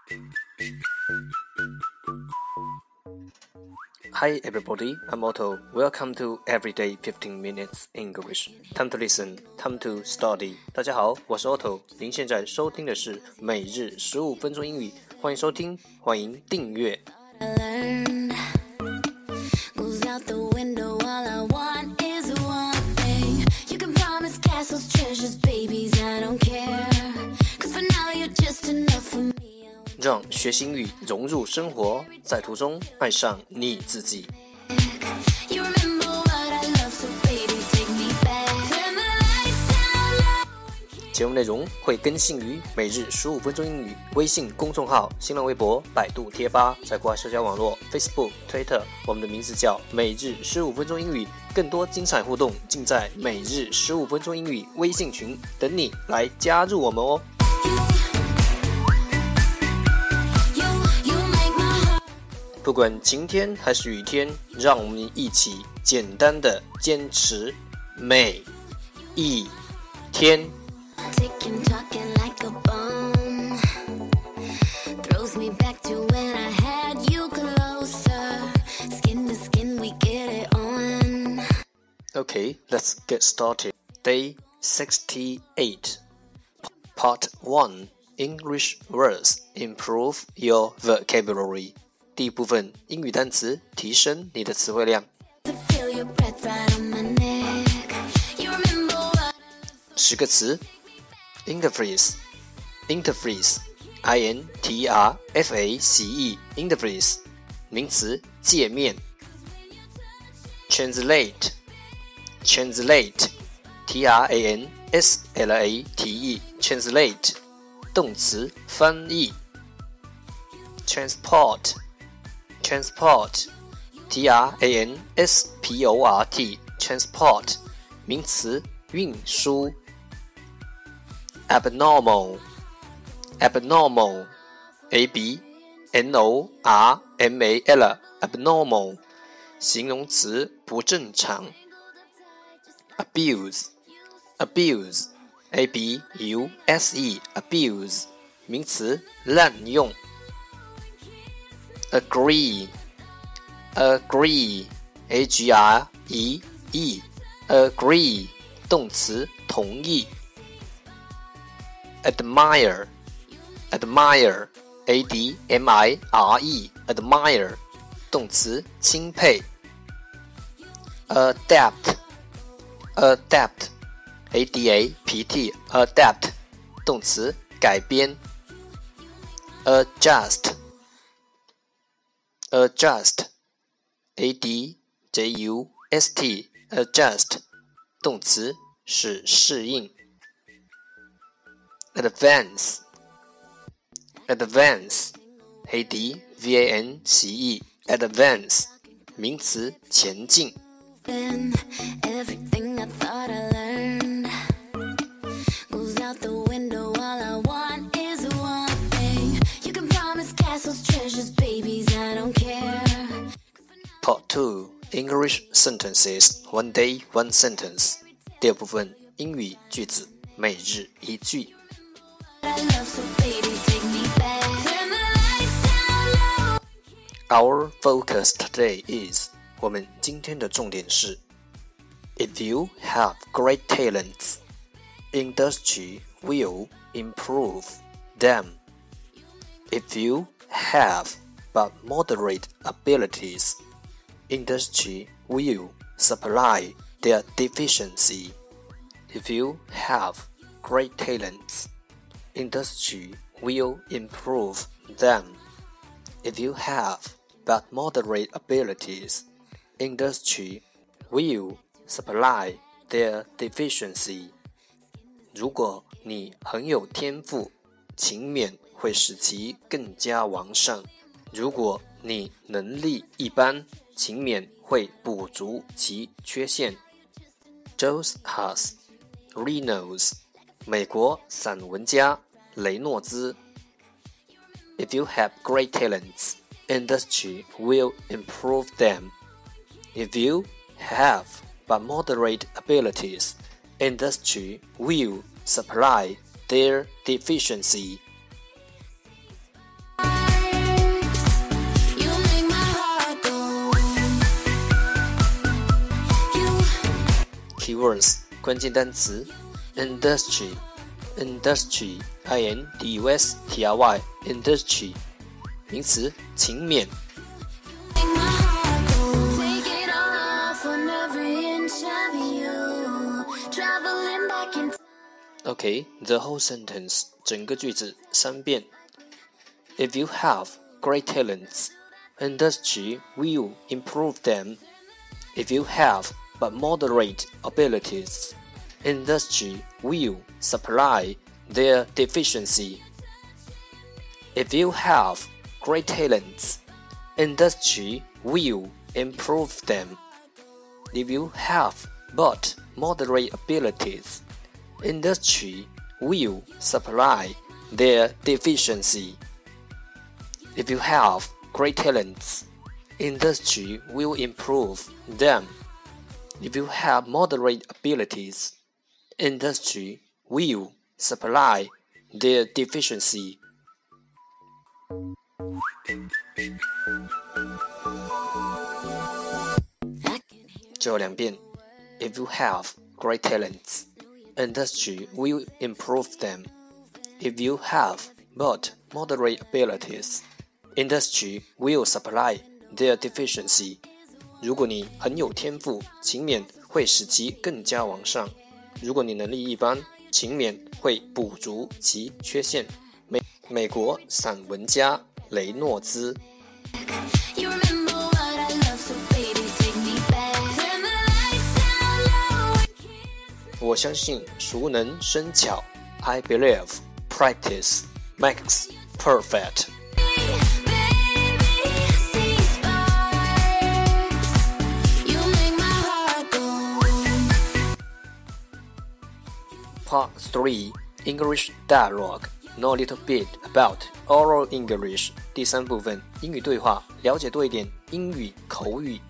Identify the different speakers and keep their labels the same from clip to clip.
Speaker 1: Hi everybody, I'm Otto. Welcome to Everyday 15 Minutes English. Time to listen, time to study. 大家好，我是 Otto。您现在收听的是每日15分钟英语，欢迎收听，欢迎订阅。让学习英语融入生活，在途中爱上你自己。节目内容会更新于每日15分钟英语微信公众号、新浪微博、百度贴吧，在国外社交网络 Facebook、Twitter， 我们的名字叫每日15分钟英语。更多精彩互动尽在每日15分钟英语微信群，等你来加入我们哦。不管晴天还是雨天，让我们一起简单的坚持每一天。Okay, let's get started. Day 68, Part 1, English words, improve your vocabulary. 第一部分英语单词，提升你的词汇量。10个词 Interface Interface I-N-T-R-F-A-C-E Interface 名词，界面。Translate Translate T-R-A-N-S-L-A-T-E Translate 动词，翻译。Transport Transport T-R-A-N-S-P-O-R-T Transport 名词，运输。Abnormal Abnormal A-B-N-O-R-M-A-L Abnormal 形容词，不正常。Abuse Abuse A-B-U-S-E Abuse 名词，滥用。Agree Agree A-G-R-E-E Agree 动词，同意。Admire Admire A-D-M-I-R-E Admire 动词，钦佩。Adapt Adapt A-D-A-P-T Adapt 动词，改编。Adjust Adjust A-D-J-U-S-T Adjust 动词，使适应。Advance Advance A-D-V-A-N-C-E Advance 名词，前进。Part 2 English sentences One day, one sentence 第二部分英语句子，每日一句。Our focus today is 我们今天的重点是 If you have great talents, industry will improve them. If you have but moderate abilities, industry will supply their deficiency. If you have great talents, industry will improve them. If you have but moderate abilities, industry will supply their deficiency. 如果你很有天赋，勤勉会使其更加完善。如果你能力一般，勤勉会补足其缺陷。Joe Haas Reynolds 美国散文家雷诺兹。If you have great talents, industry will improve them. If you have but moderate abilities, industry will supply their deficiency. Keywords 关键单词 Industry Industry I-N-D-U-S-T-R-Y Industry 名词勤勉Okay, the whole sentence 整个句子3遍 If you have great talents, industry will improve them. If you have but moderate abilities, industry will supply their deficiency. If you have great talents, industry will improve them. If you have but moderate abilities, industry will supply their deficiency. If you have great talents, industry will improve them. If you have moderate abilities, industry will supply their deficiency. 最后2遍 If you have great talents, industry will improve them. If you have but moderate abilities, industry will supply their deficiency. 如果你很有天赋，勤勉会使其更加完善。如果你能力一般，勤勉会补足其缺陷。美国散文家雷诺兹。我相信熟能生巧 I believe practice makes perfect. Part 3 English Dialogue Know a little bit about oral English 第3部分英语对话，了解多一点英语口语。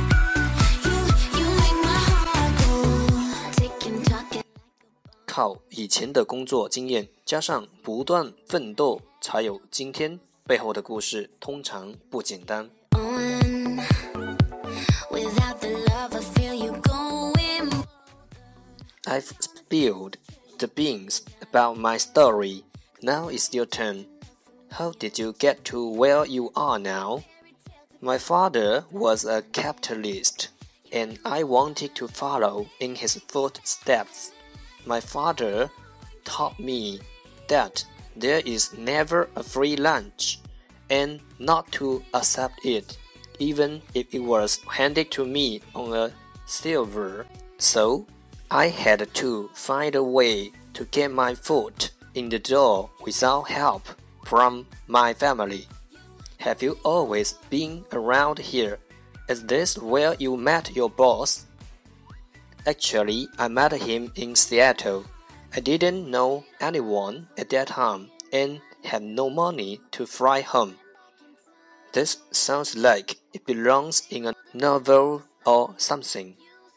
Speaker 1: 靠以前的工作经验加上不断奋斗才有今天，背后的故事通常不简单。I've spilled the beans about my story. Now it's your turn. How did you get to where you are now? My father was a capitalist, and I wanted to follow in his footsteps.My father taught me that there is never a free lunch, and not to accept it, even if it was handed to me on a silver. So, I had to find a way to get my foot in the door without help from my family. Have you always been around here? Is this where you met your boss?Actually, I met him in Seattle. I didn't know anyone at that time and had no money to fly home. This sounds like it belongs in a novel or something.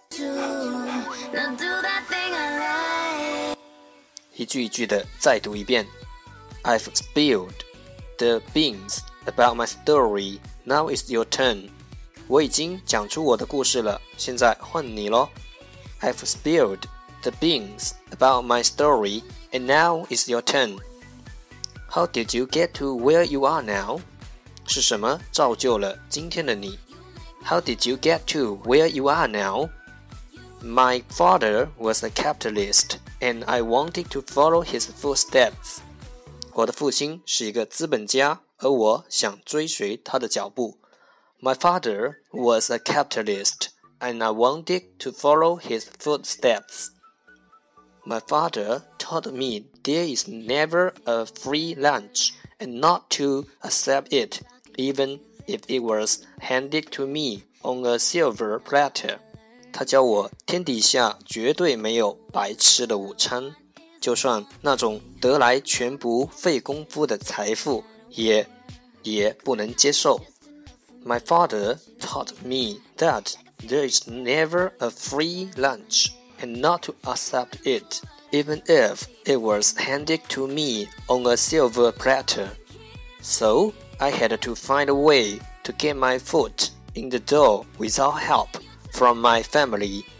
Speaker 1: 一句一句的再读一遍 I've spilled the beans about my story. Now it's your turn. 我已经讲出我的故事了，现在换你咯。I've spilled the beans about my story, and now it's your turn. How did you get to where you are now? 是什么造就了今天的你 How did you get to where you are now? My father was a capitalist, and I wanted to follow his footsteps. 我的父亲是一个资本家，而我想追随他的脚步。My father was a capitalist.And I wanted to follow his footsteps. My father taught me there is never a free lunch, and not to accept it, even if it was handed to me on a silver platter. 他教我天底下绝对没有白吃的午餐，就算那种得来全不费功夫的财富，也不能接受。My father taught me that.There is never a free lunch, and not to accept it, even if it was handed to me on a silver platter. So, I had to find a way to get my foot in the door without help from my family.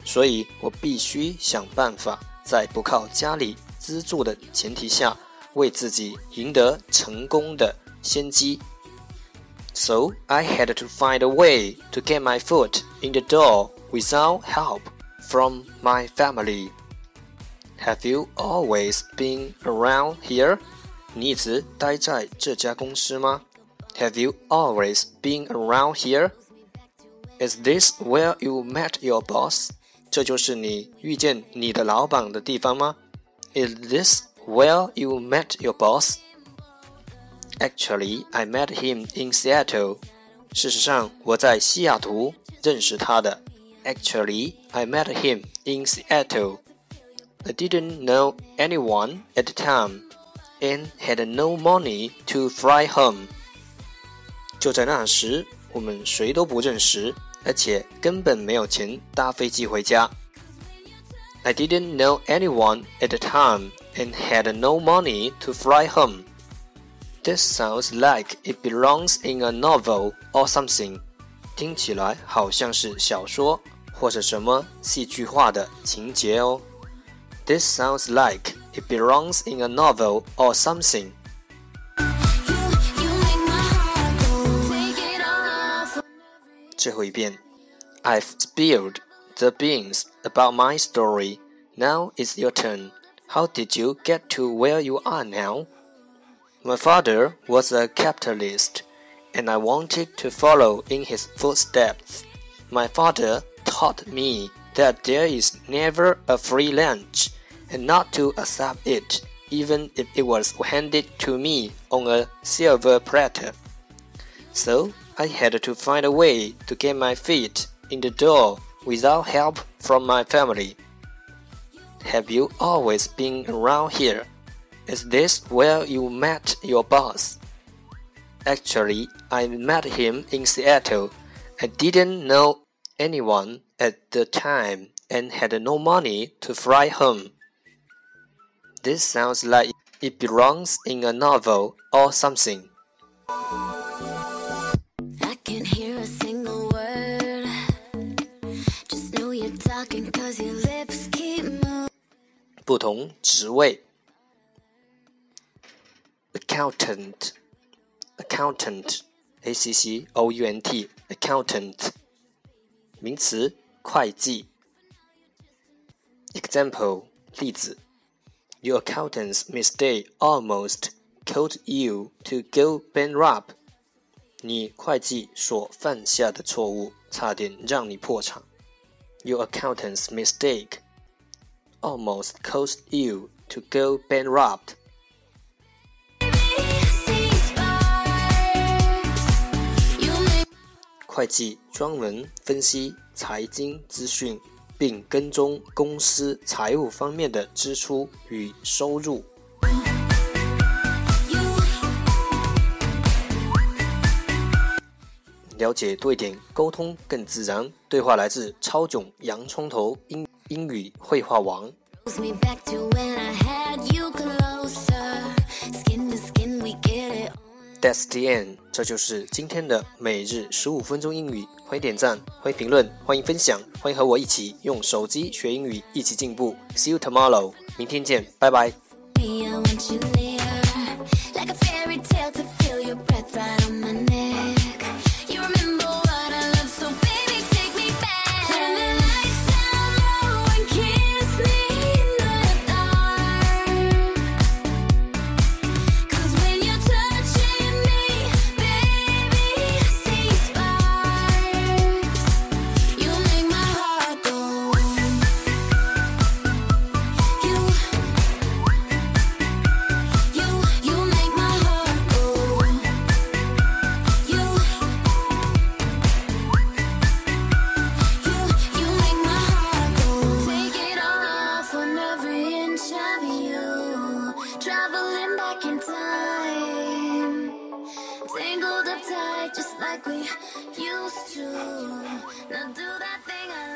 Speaker 1: 所以我必须想办法在不靠家里资助的前提下，为自己赢得成功的先机。So I had to find a way to get my foot in the door without help from my family. Have you always been around here? 你一直待在这家公司吗？ Have you always been around here? Is this where you met your boss? 这就是你遇见你的老板的地方吗？ Is this where you met your boss? Actually, I met him in Seattle. 事实上，我在西雅图认识他的。Actually, I met him in Seattle. I didn't know anyone at the time and had no money to fly home. 就在那时，我们谁都不认识，而且根本没有钱搭飞机回家。I didn't know anyone at the time and had no money to fly home. This sounds like it belongs in a novel or something. 听起来好像是小说或者什么戏剧化的情节哦。This sounds like it belongs in a novel or something. 最后一遍。I've spilled the beans about my story. Now it's your turn. How did you get to where you are now? My father was a capitalist, and I wanted to follow in his footsteps. My father taught me that there is never a free lunch, and not to accept it, even if it was handed to me on a silver platter. So I had to find a way to get my feet in the door without help from my family. Have you always been around here? Is this where you met your boss? Actually, I met him in Seattle. I didn't know anyone at the time and had no money to fly home. This sounds like it belongs in a novel or something.
Speaker 2: I can't hear a single word. Just know you're talking 'cause your lips keep moving.
Speaker 1: 不同职位。Accountant, accountant, accountant, 名词，会计。Example, 例子。Your accountant's mistake almost caused you to go bankrupt. 你会计所犯下的错误，差点让你破产。Your accountant's mistake almost caused you to go bankrupt. 会计专门分析财经资讯，并跟踪公司财务方面的支出与收入。了解多一点，沟通更自然。对话来自超囧洋葱头英语绘画王。That's the end. 这就是今天的每日15分钟英语。欢迎点赞，欢迎评论，欢迎分享，欢迎和我一起用手机学英语，一起进步。See you tomorrow. 明天见，拜拜。Traveling back in time, tangled up tight just like we used to. Now do that thing I